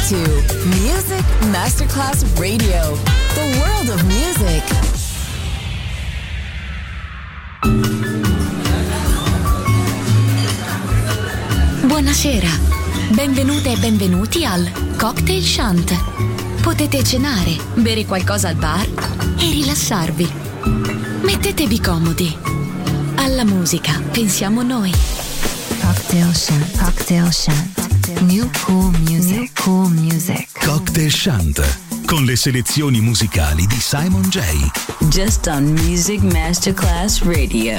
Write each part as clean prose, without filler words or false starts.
to Music Masterclass Radio, the world of music. Buonasera, benvenute e benvenuti al Cocktail Shant. Potete cenare, bere qualcosa al bar e rilassarvi. Mettetevi comodi. Alla musica pensiamo noi. Cocktail Shant, Cocktail Shant. New cool music, new cool music. Cocktail Shant, con le selezioni musicali di Simon J. Just on Music Masterclass Radio.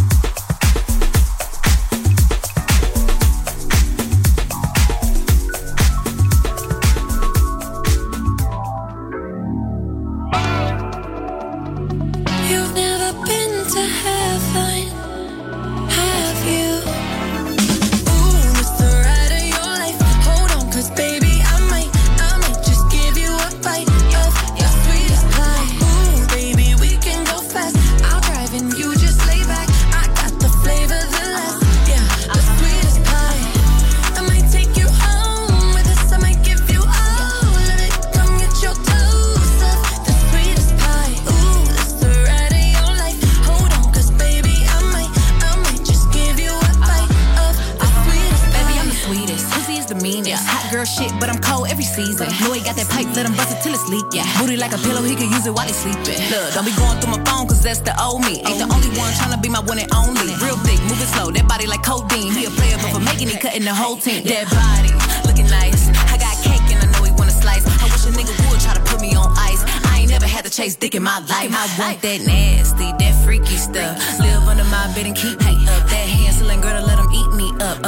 Look, don't be going through my phone, cause that's the old me. Ain't the only one tryna be my one and only. Real thick, moving slow, that body like codeine. He a player, but for making it, cutting the whole team. That body, looking nice. I got cake and I know he wanna slice. I wish a nigga would try to put me on ice. I ain't never had to chase dick in my life. I want that nasty, that freaky stuff. Live under my bed and keep me up. That Hansel girl to let him eat me up.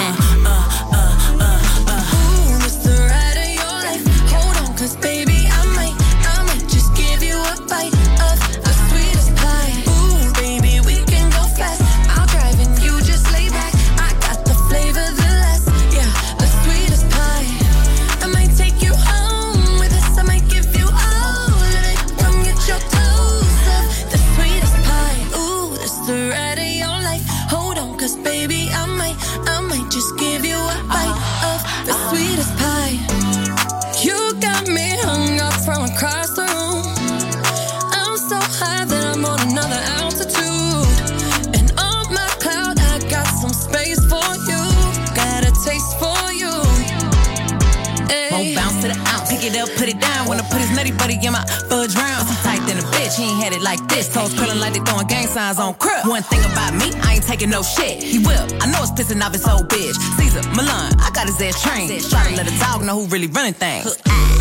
Ooh, it's the ride of your life. Hold on, cause baby, I might just give you a bite of the sweetest pie. Ooh, baby, we can go fast. I'll drive and you just lay back. I got the flavor, the last, yeah, the sweetest pie. I might take you home with us. I might give you all of it. Come get your toes up, the sweetest pie. Ooh, it's the ride of your life. Hold on, cause baby, I might just give you a bite of the sweetest pie. You got me hung up from across the room. I'm so high that I'm on another altitude. And on my cloud, I got some space for you. Got a taste for you. Won't bounce to the ounce. Pick it up, put it down. Wanna put his nutty buddy in my fudge round. I'm tight than a bitch, he ain't had it like this. Toes curling like they throwing gang signs on crib. One thing about me, I ain't taking no shit. He will, I know it's pissing off his old bitch. Caesar, Milan, I got his ass trained. Try to let a dog know who really running things.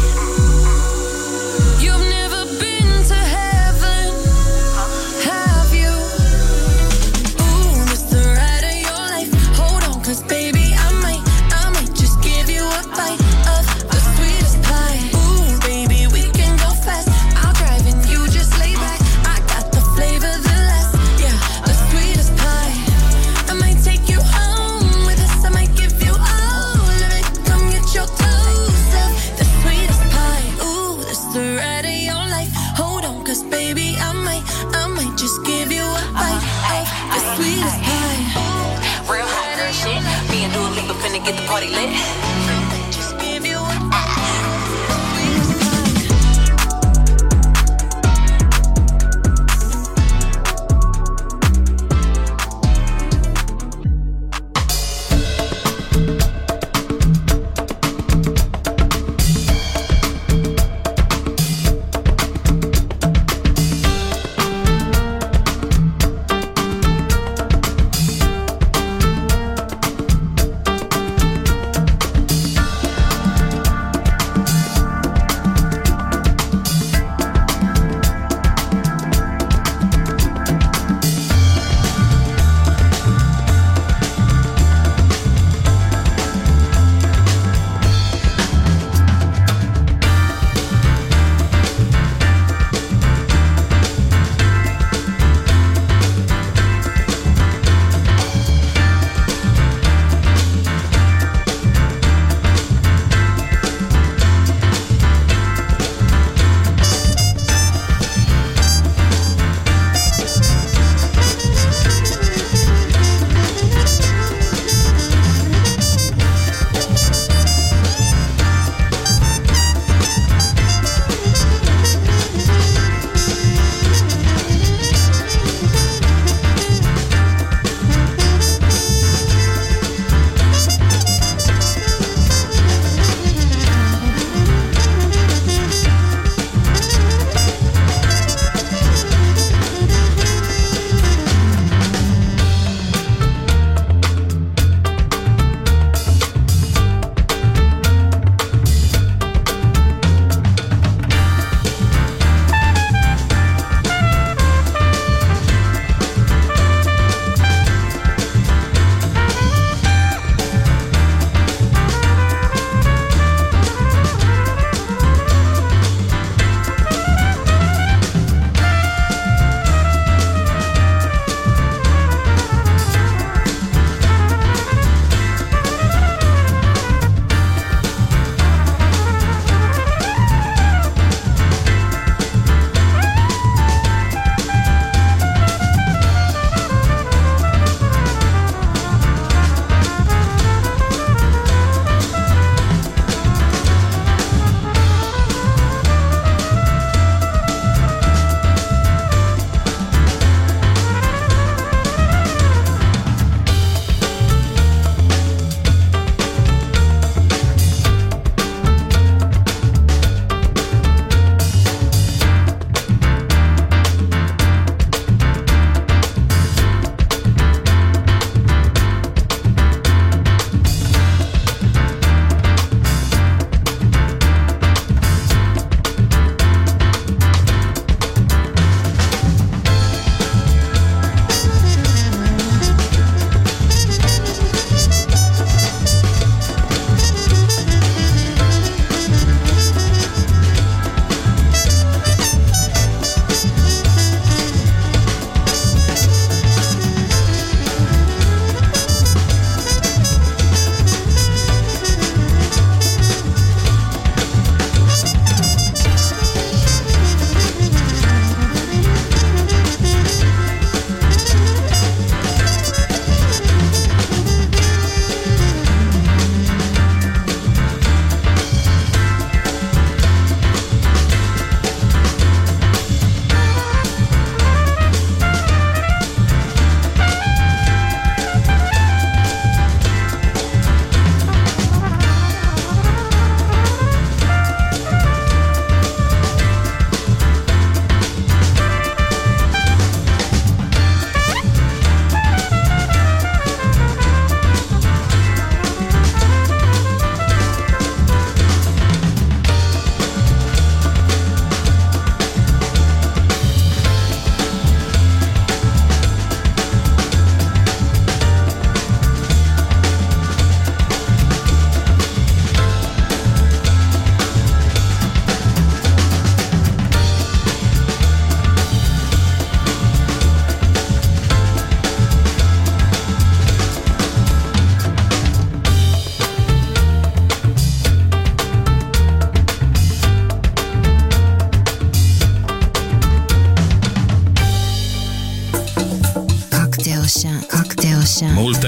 You've never been to heaven, have you? Ooh, it's the ride of your life. Hold on, cause baby, I might just give you a bite of the sweetest pie. Ooh, baby, we can go fast. I'll drive and you just lay back. I got the flavor, the last, yeah, the sweetest pie. I might take you home with us. I might give you all of it. Come get your toes up, the sweetest pie. Ooh, that's the ride of your life. Hold on, cause baby, I might just give you a bite of the sweetest pie. Real hot girl shit. Me and Dua Lipa finna get the party lit. Just give you a bite.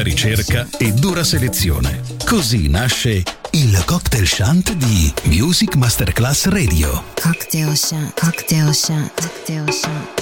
profonda ricerca e dura selezione. Così nasce il Cocktail Shant di Music Masterclass Radio. Cocktail Shant, Cocktail Shant, Cocktail Shant.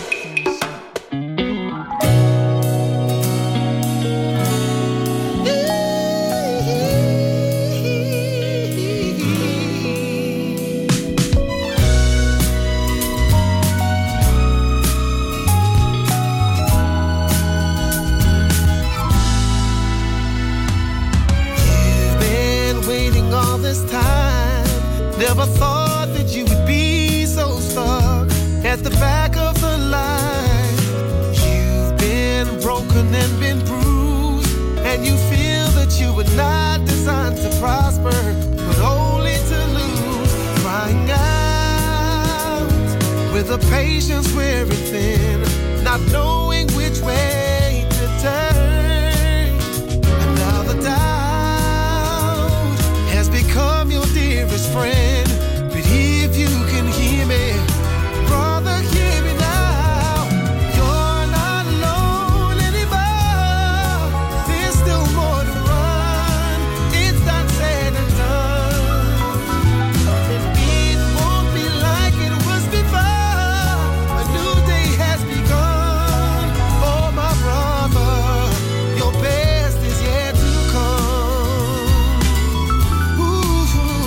Never thought that you would be so stuck at the back of the line. You've been broken and been bruised, and you feel that you were not designed to prosper, but only to lose. Crying out with a patience wearing thin, not knowing which way to turn. And now the doubt has become your dearest friend. But if you can hear me, brother, hear me now. You're not alone anymore. There's still more to run. It's not said and done. And it won't be like it was before. A new day has begun. Oh, my brother, your best is yet to come. Ooh.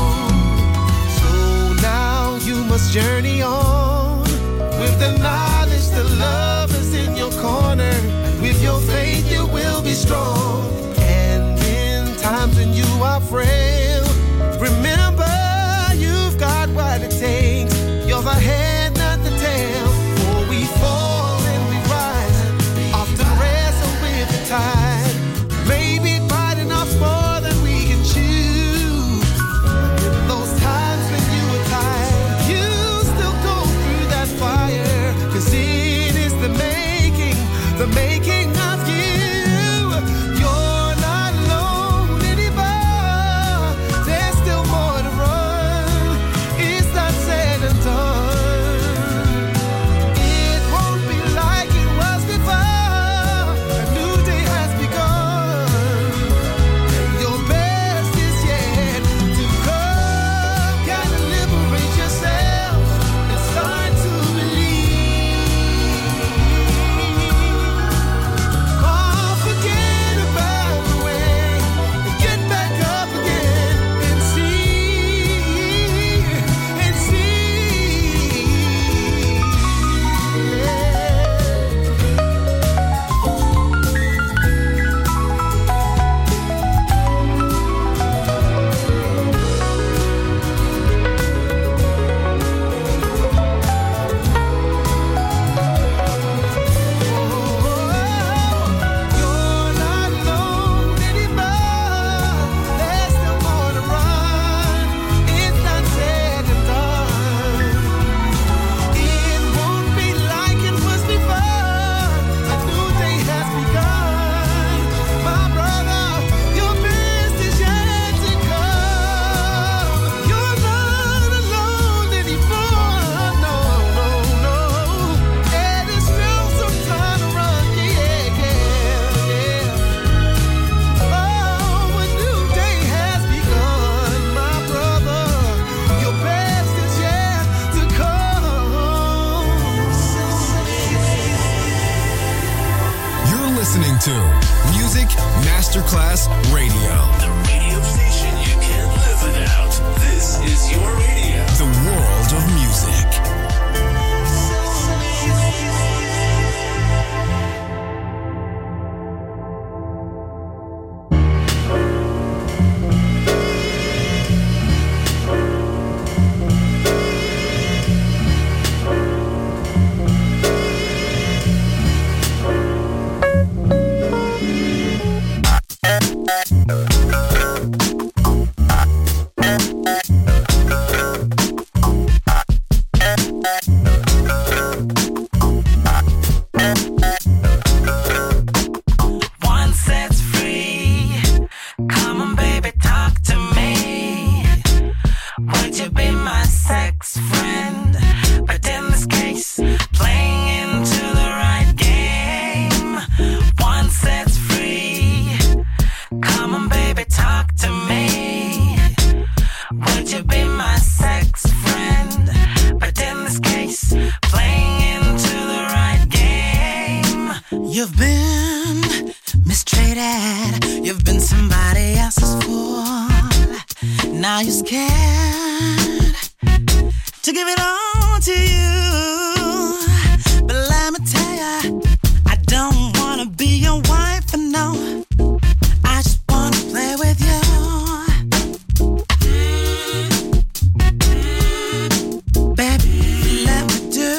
So now you must journey on with the knowledge that love is in your corner. And with your faith you will be strong. And in times when you are frail, remember you've got what it takes. You're the head, not the tail. For we fall and we rise, often wrestle with the tide. Maybe biting off more than we can chew. In those times when you were tired, you still go through that fire. 'Cause it is the making of you. You're scared to give it all to you. But let me tell ya, I don't wanna be your wife, and no, I just wanna play with you. Baby, let me do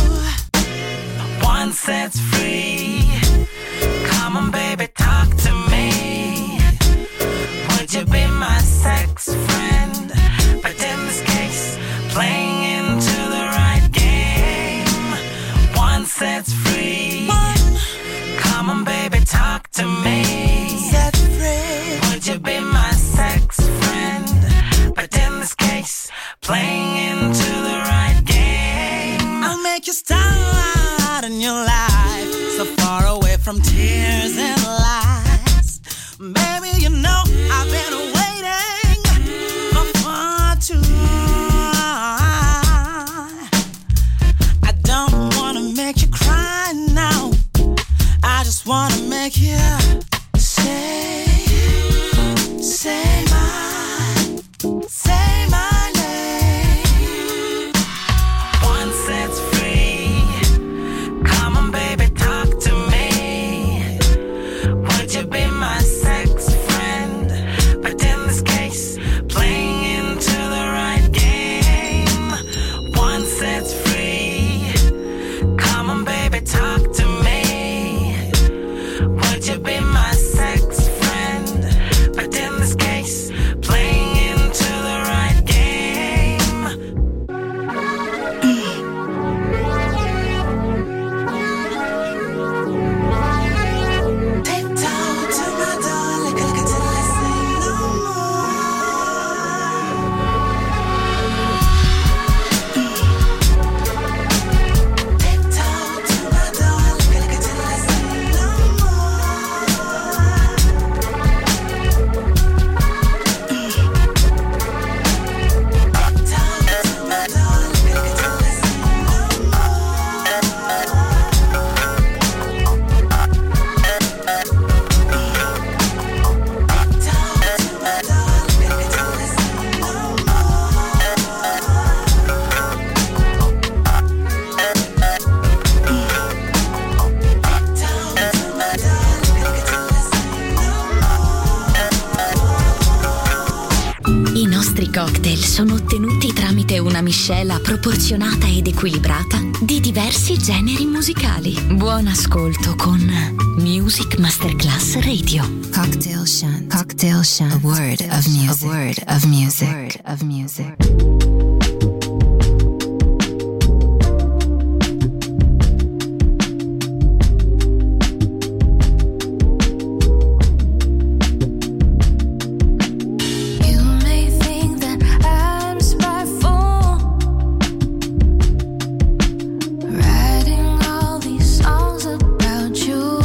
one set's free. Come on, baby, talk to me. Would you be my sex friend? But in this case, playing into the right game. One set's free. Come on, baby, talk to me. Set free. Would you be my sex friend? But in this case, playing into the right game. I'll make you start in your life, so far away from tears and lies. Baby, you know I've been waiting for far too long. I don't wanna make you cry now, I just wanna make you say my name. One set's free. Come on, baby, talk to me. Would you be my sex friend? But in this case, playing into the right game. One set's free. Come on, baby, talk to me. Would you be my sex friend? But in this case, playing into the right game. Tiptoe to my door, lick it till I say no more. Tiptoe to my door, lick it till I say no more. Tiptoe to my door, lick it till I say no I nostri cocktail sono ottenuti tramite una miscela proporzionata ed equilibrata di diversi generi musicali. Buon ascolto con Music Masterclass Radio. Cocktail Shunt. Cocktail Shunt. A word of music. A word of music. A word of music. You may think that I'm spiteful, writing all these songs about you.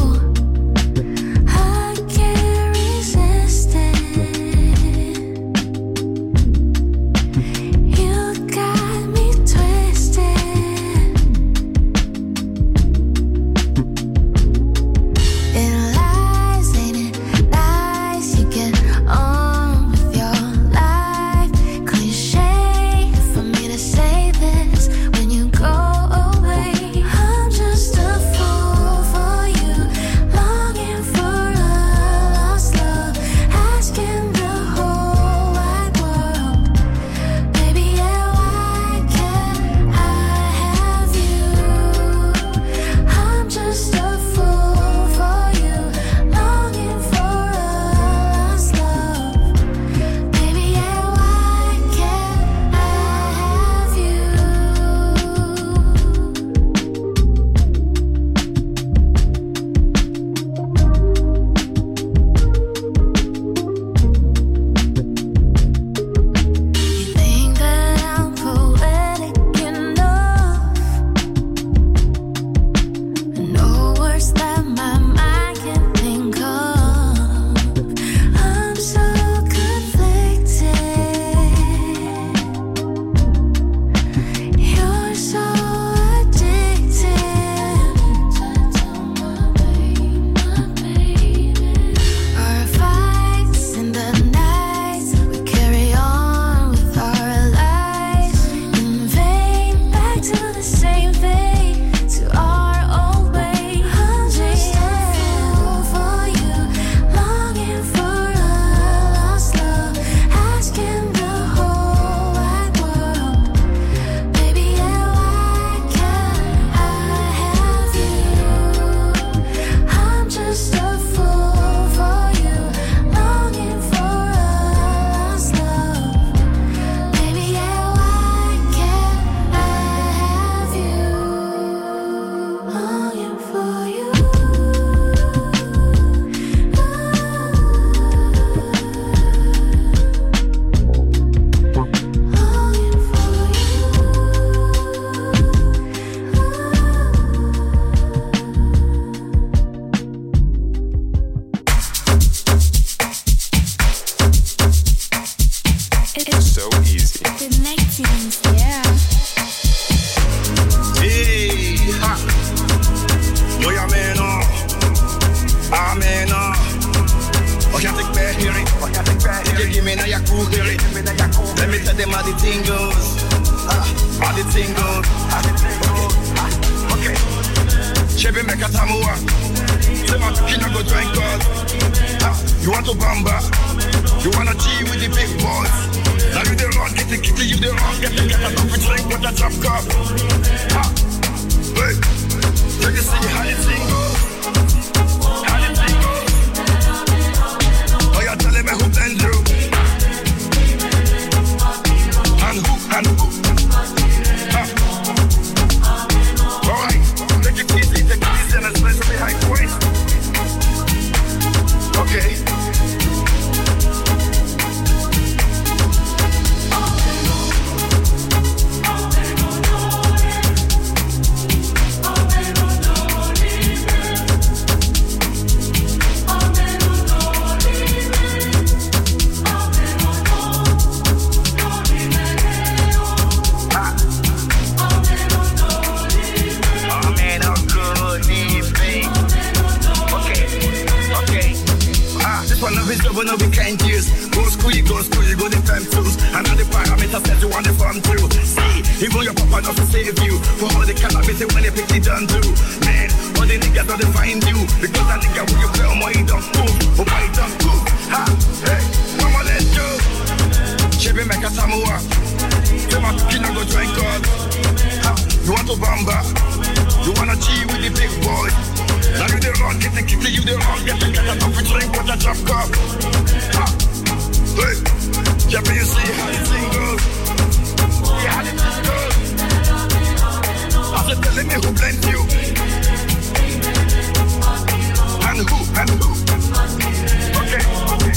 I can't resist it. easy. Connecting, yeah. Hey, ha. Boy, amen, amen. Oh, you take back hearing. You give me now your cool hearing. Let me tell them how the thing goes. How the thing goes. Okay. Chebe make a tamua. Say my kina go drink God. You want to bamba? You wanna G with the big boys? Now you the wrong, get the kitty, you the wrong, get a coffee drink with a drop cup. Hey, let me see how the thing goes. How the thing goes. Oh, you're telling me who blend you? And who? Alright, take it easy and especially high waist. Okay. But no, we can't use. Go school, you go the fam tools. And all the parameters that you want to farm through. See, even your papa not to save you. For all the cannabis when they pick it done too. Man, all the niggas don't find you. Because that nigga will you play on my don't move. Oh my don't move. Ha, hey, mama let's go. Chebe make a samoa. Say my kid go drink God. You want to bamba? You wanna G with the big boy? Now you the wrong, get the kitty, you the wrong, get a coffee drink with a drop cup. Hey, Jeffy, you see how the thing goes? Yeah, how the thing goes? I said, telling me who blends you? And who? Okay.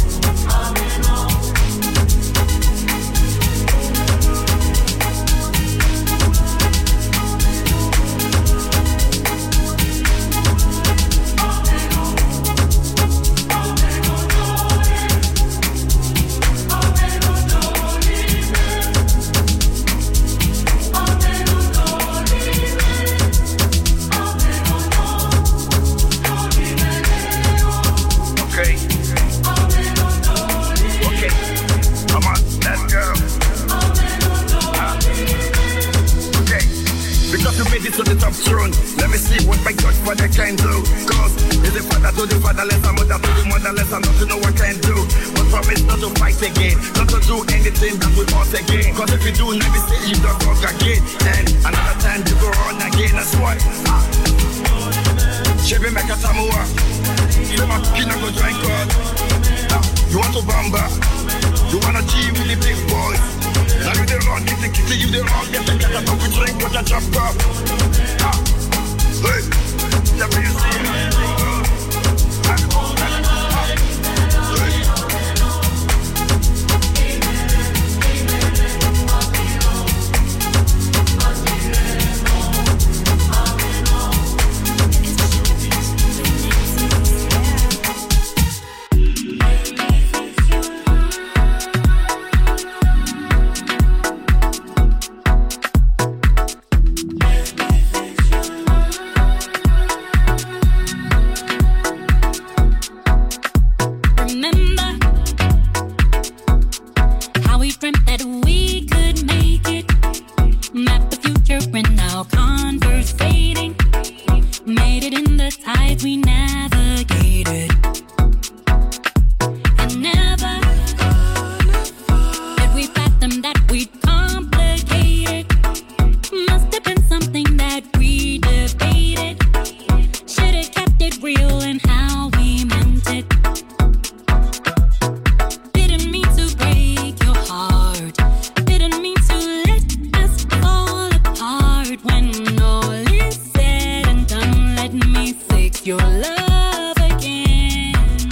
To the top throne. Let me see what my God Father can do. Cause is the father to the fatherless, and mother to the motherless, and not to know what can do. But promise not to fight again, not to do anything that we want again. Cause if you do, let me say you don't walk again. And another time you go on again, that's why. Chebe make a samoa. You want to go drink God. You want to bamba? You wanna G with the big boys? Now you the wrong, get the kitty, you the wrong, get a coffee drink with a drop cup. Hey, let me see how the thing goes.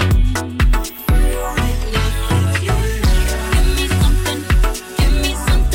Give me something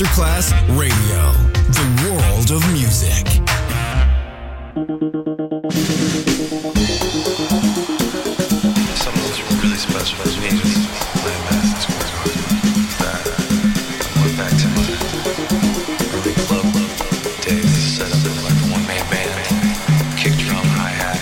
Masterclass Radio, the world of music. Something that's really special for me is playing Madison Square Garden. I went back to my early club days, set up like a one-man band, kick drum, hi-hat.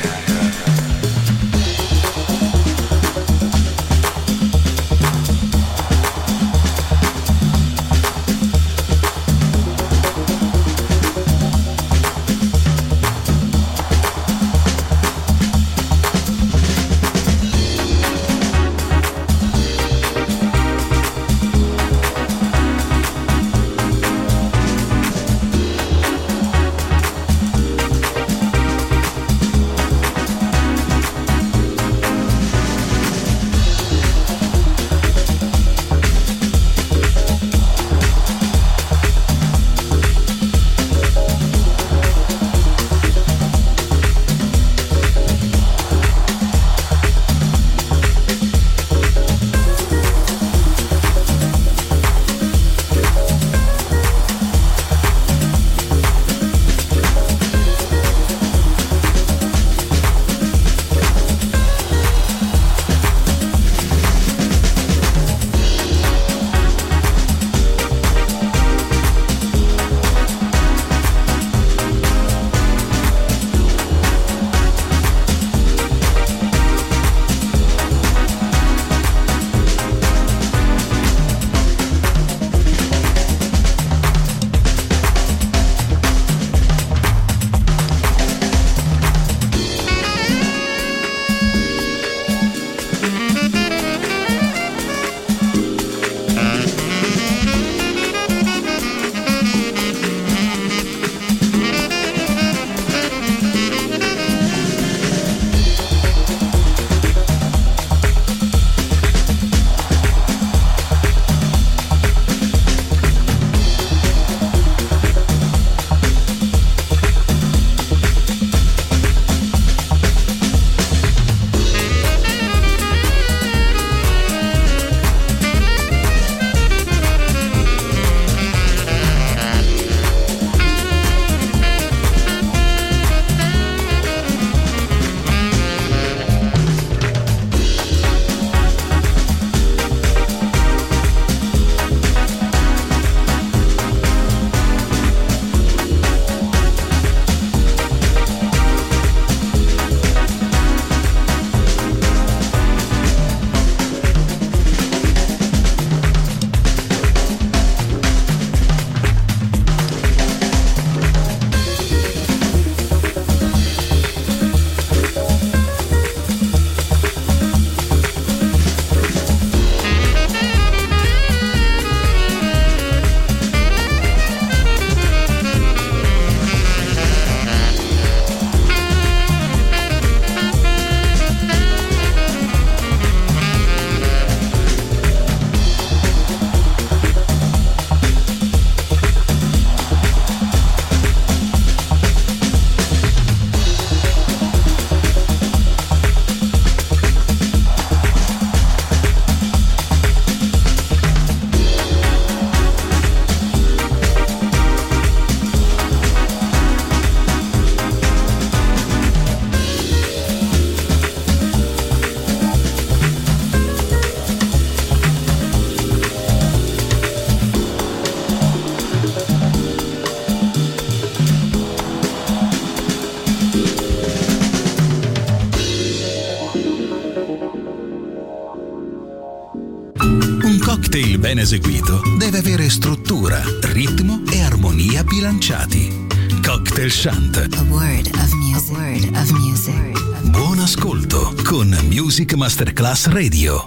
cocktail ben eseguito deve avere struttura, ritmo e armonia bilanciati. Cocktail Shant. A word of music. A word of music. Buon ascolto con Music Masterclass Radio.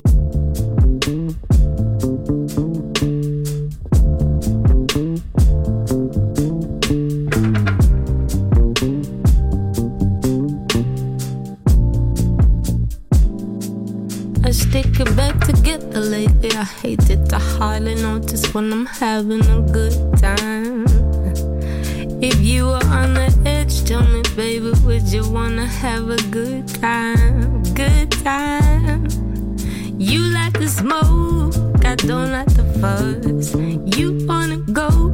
Stick it back together lately. I hate it. I hardly notice when I'm having a good time. If you were on the edge, tell me, baby, would you wanna have a good time? Good time. You like the smoke, I don't like the fuzz. You wanna go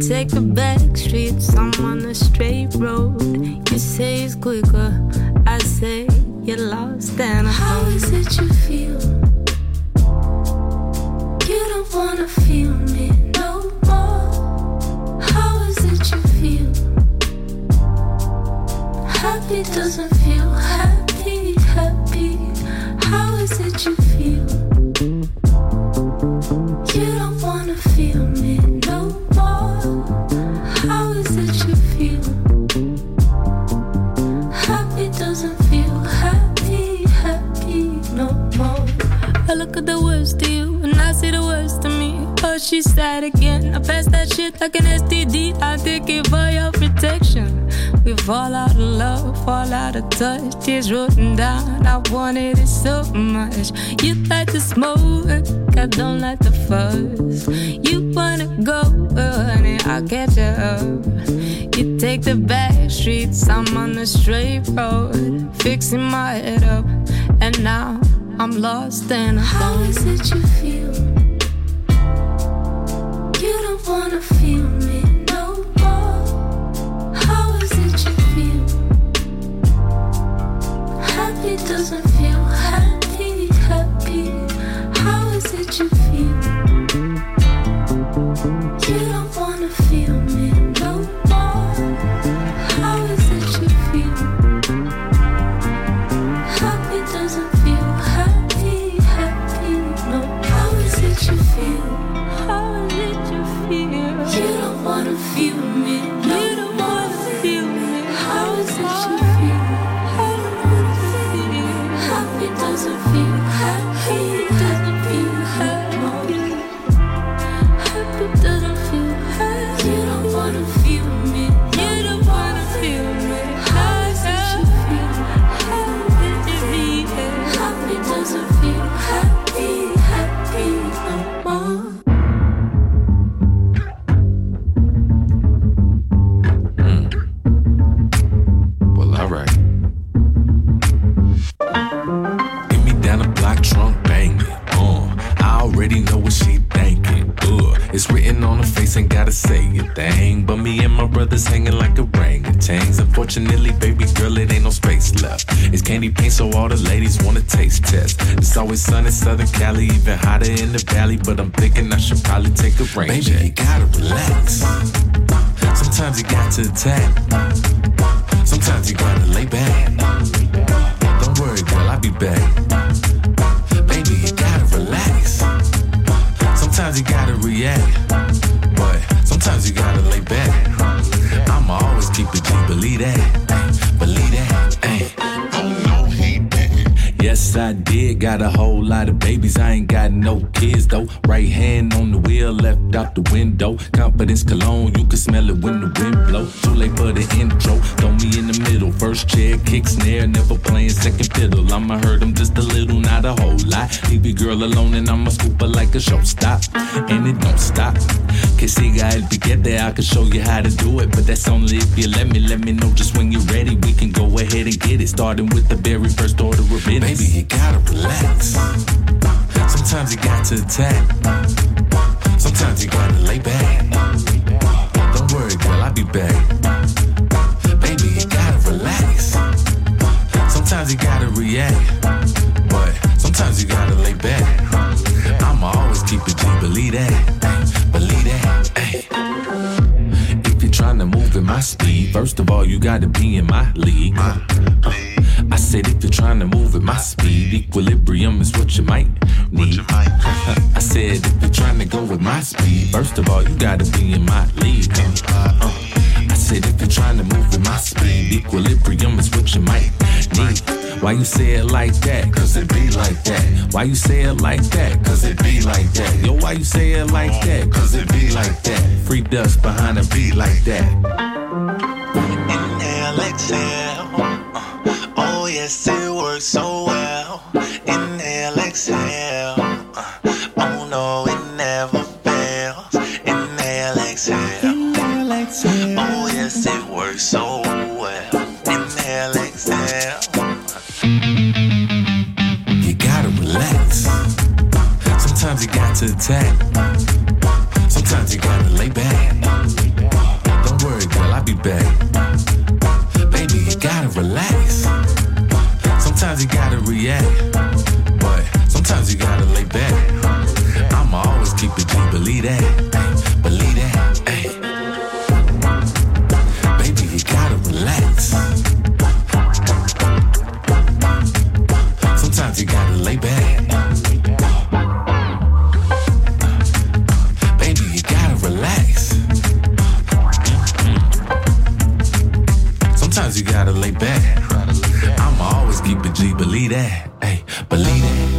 take the back streets, I'm on the straight road. You say it's quicker, I say you're lost and alone. How is it you feel? You don't wanna feel me no more. How is it you feel? Happy doesn't feel happy, happy. How is it you feel? You don't wanna feel me no more. How is it you feel? Happy doesn't feel happy, happy no more. I look at the worst of you and I see the worst of me. Oh, she's sad again. I pass that shit like an STD. I take it for your protection. We fall out of love, fall out of touch. Tears rolling down, I wanted it so much. You like to smoke, I don't like the fuzz. You wanna go, honey, I'll catch you up. You take the back streets, I'm on the straight road. Fixing my head up, and now I'm lost and alone. How is it you feel? You don't wanna feel me no more. How is it you feel? Happy doesn't feel happy, happy. How is it you feel? You don't wanna feel me no more. How is it you feel? Happy doesn't feel happy, happy. No, how is it you feel? How is it you feel? You don't wanna feel me. You don't wanna feel me. How is it you feel? How does it feel? Happy doesn't feel happy, doesn't feel happy. Happy doesn't feel happy. You don't wanna feel me. You don't wanna feel me. How is it you feel? How is it you feel? Happy doesn't feel happy, happy no more. Well, alright. Get me down the block, trunk banging. I already know what she thinking. It's written on her face, ain't gotta say a thing. But me and my brothers hanging like orangutans. Unfortunately, baby girl, it ain't no space left. It's candy paint, so all the ladies wanna taste test. It's always sun in Southern Cali, even hotter in the valley. But I'm thinking I should probably take a rain check. Baby, you gotta relax. Sometimes you got to attack. Sometimes you gotta lay back. Don't worry, girl, I'll be back. Baby, you gotta relax. Sometimes you gotta react, but sometimes you gotta lay back. I'ma always keep it G, believe that, believe that. Ay. Yes, I did. Got a whole lot of babies. I ain't got no kids, though. Right hand on the wheel, left out the window. Confidence cologne, you can smell it when the wind blow. Too late for the intro. Throw me in the middle. First chair, kick, snare, never playing second fiddle. I'ma hurt them just a little, not a whole lot. Leave your girl alone and I'ma scoop her like a showstop. And it don't stop. Que siga el piquete, I can show you how to do it. But that's only if you let me know just when you're ready. We can go ahead and get it. Starting with the very first order of business. Baby, you gotta relax. Sometimes you got to attack. Sometimes you gotta lay back. Don't worry, girl, I'll be back. Baby, you gotta relax. Sometimes you gotta react, but sometimes you gotta lay back. I'ma always keep it G, believe that, believe that. Ay. If you're trying to move at my speed, first of all, you gotta be in my league. I said if you're trying to move at my speed, equilibrium is what you might need. I said if you're trying to go with my speed, first of all, you gotta be in my league. I said if you're trying to move with my speed, equilibrium is what you might need. Why you say it like that? Cause it be like that. Why you say it like that? Cause it be like that. Yo, why you say it like that? Cause it be like that. Free dust behind a beat like that. Inhale, exhale. Oh yes, it works so well. Inhale, exhale. Oh no, it never fails. Inhale, exhale. Inhale, exhale. Oh yes, it works so well. Inhale, exhale. You gotta relax. Sometimes you got to attack. Sometimes you gotta lay back. Sometimes you gotta lay back. I'ma always keep it G, believe that. Hey, believe that.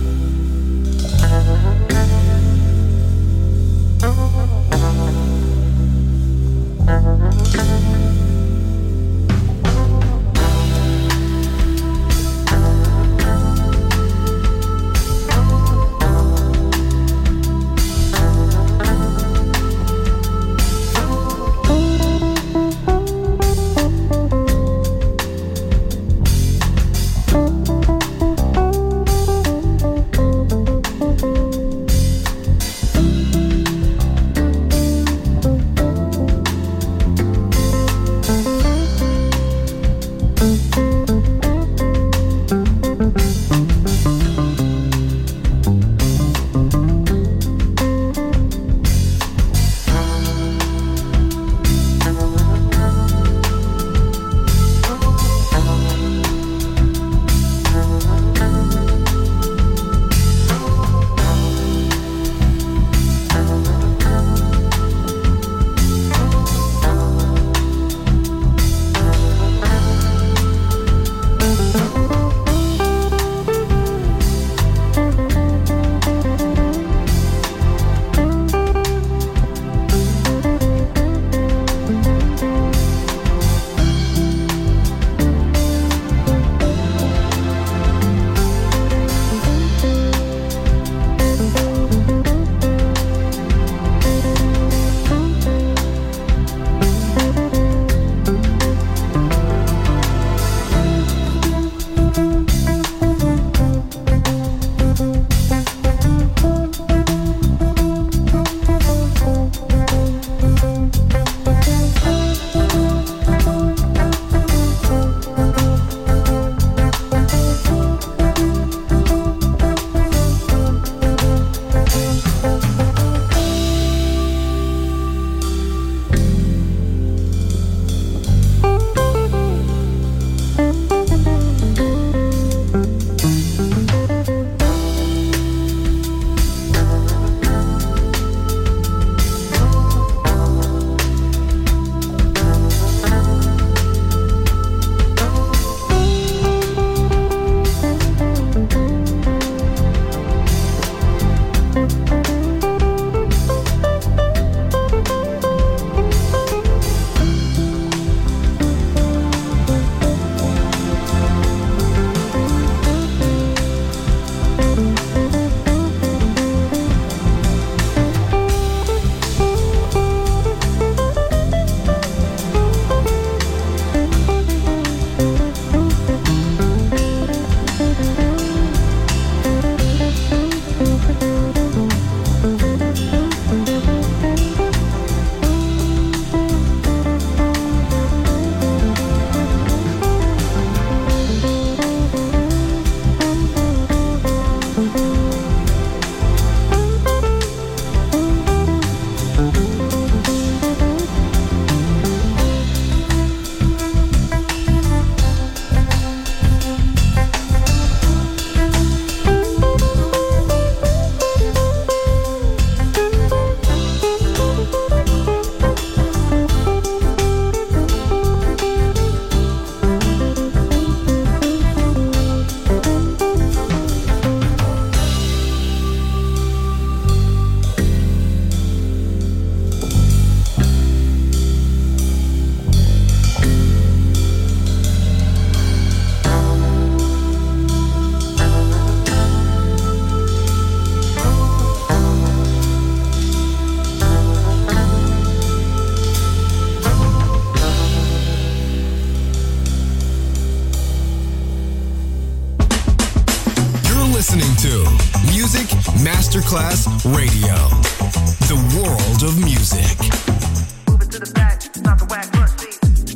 Masterclass Radio, the world of music. Move it to the back, not the whack rusty.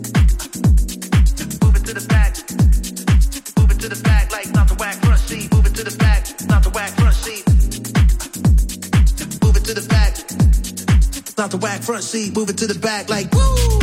Move it to the back. Move it to the back like not the whack rusty. Move it to the back, not the whack rusty. Move it to the back, not the whack front seat. Move it to the back like woo.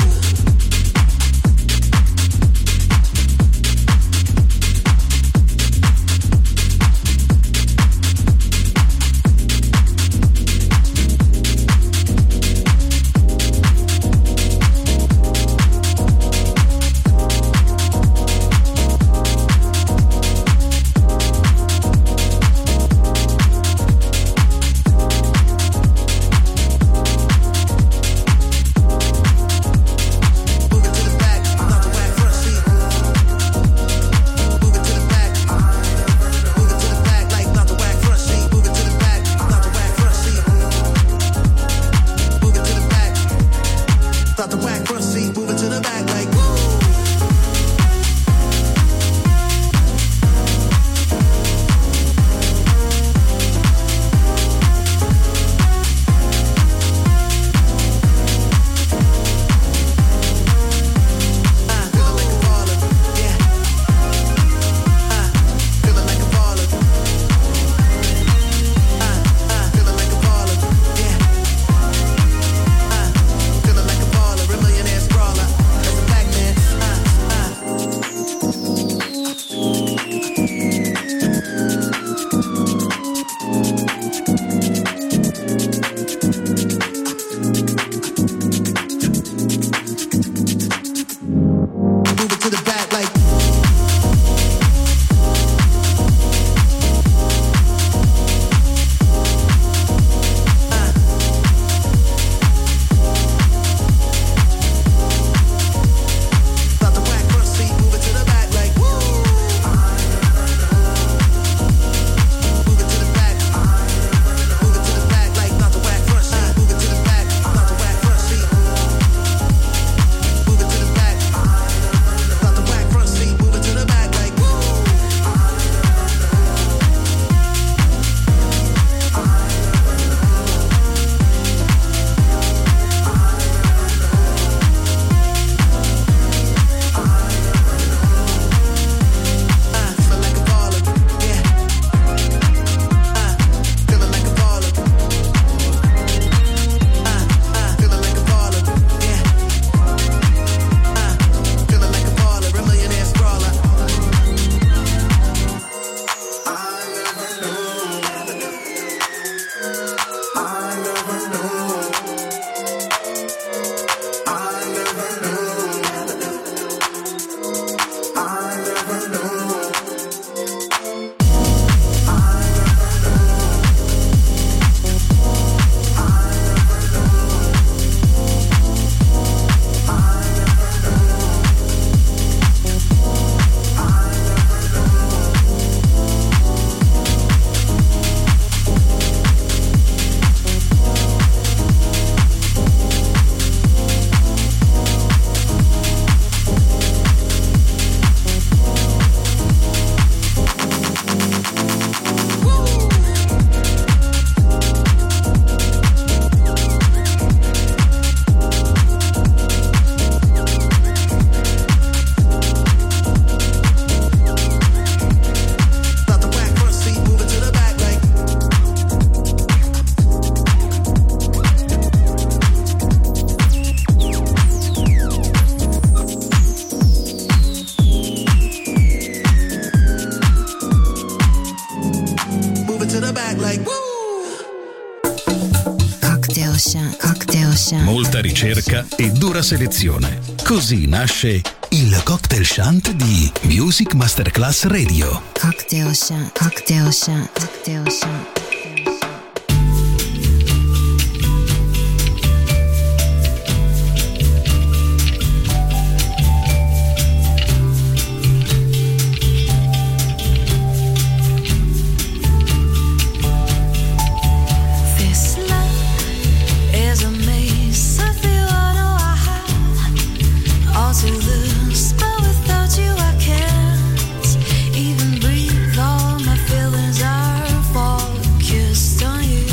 Ocean. Molta ricerca e dura selezione. Così nasce il cocktail shant di Music Masterclass Radio. Cocktail Shant, Cocktail Shant, Cocktail Shant. All my feelings are focused on you.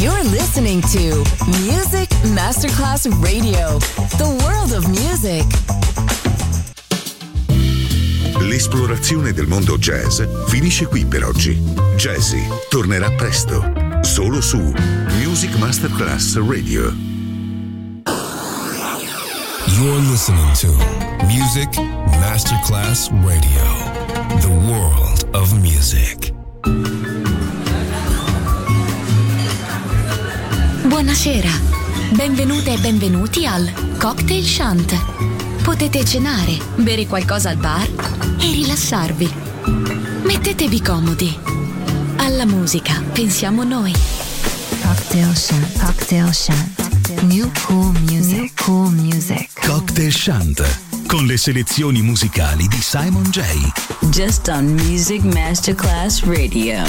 You're listening to Music Masterclass Radio, the world of music. L'esplorazione del mondo jazz finisce qui per oggi. Jazzy tornerà presto, solo su Music Masterclass Radio. You're listening to Music Masterclass Radio, the world of music. Buonasera, benvenute e benvenuti al Cocktail Shant. Potete cenare, bere qualcosa al bar e rilassarvi. Mettetevi comodi. Alla musica pensiamo noi. Cocktail Shant, Cocktail Shant. New cool music, new cool music. Cocktail Shant, con le selezioni musicali di Simon J. Just on Music Masterclass Radio.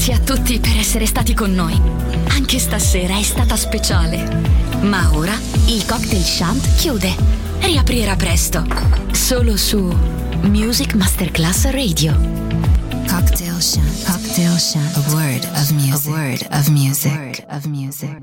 Grazie a tutti per essere stati con noi. Anche stasera è stata speciale. Ma ora il Cocktail Shant chiude. Riaprirà presto. Solo su Music Masterclass Radio. Cocktail Shant. Cocktail Shant. A word of music. A word of music.